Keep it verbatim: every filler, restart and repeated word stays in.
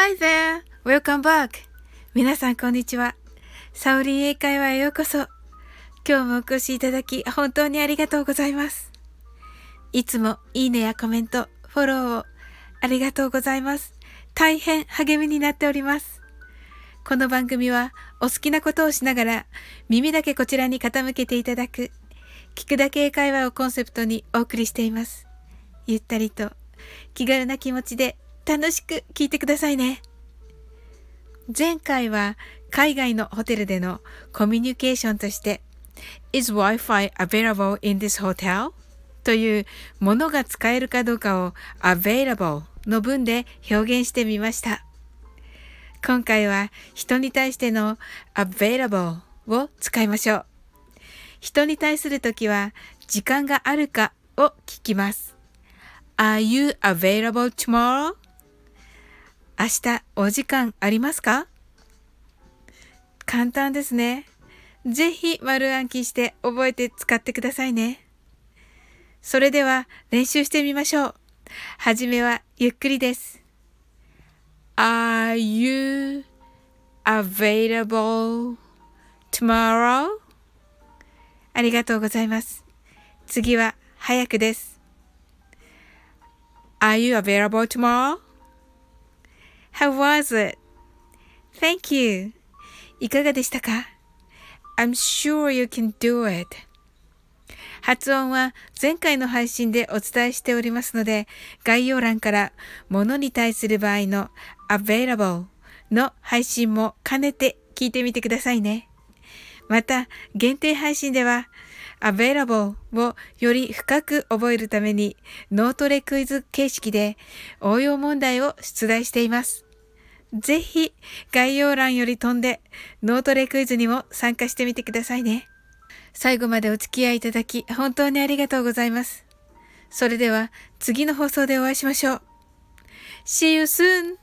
Hi there! Welcome back! 皆さんこんにちは。サオリン英会話へようこそ。今日もお越しいただき本当にありがとうございます。いつもいいねやコメント、フォローをありがとうございます。大変励みになっております。この番組はお好きなことをしながら耳だけこちらに傾けていただく聞くだけ英会話をコンセプトにお送りしています。ゆったりと気軽な気持ちで楽しく聞いてくださいね。前回は海外のホテルでのコミュニケーションとして Is Wi-Fi available in this hotel? というものが使えるかどうかを available の文で表現してみました。今回は人に対しての available を使いましょう。人に対するときは時間があるかを聞きます。Are you available tomorrow? 明日お時間ありますか？簡単ですね。ぜひ丸暗記して覚えて使ってくださいね。それでは練習してみましょう。はじめはゆっくりです。Are you available tomorrow? ありがとうございます。次は早くです。Are you available tomorrow?How was it? Thank you. いかがでしたか？ I'm sure you can do it. 発音は前回の配信でお伝えしておりますので、概要欄から物に対する場合の available の配信も兼ねて聞いてみてくださいね。また、限定配信ではavailable をより深く覚えるために脳トレクイズ形式で応用問題を出題しています。ぜひ概要欄より飛んで脳トレクイズにも参加してみてくださいね。最後までお付き合いいただき本当にありがとうございます。それでは次の放送でお会いしましょう。See you soon!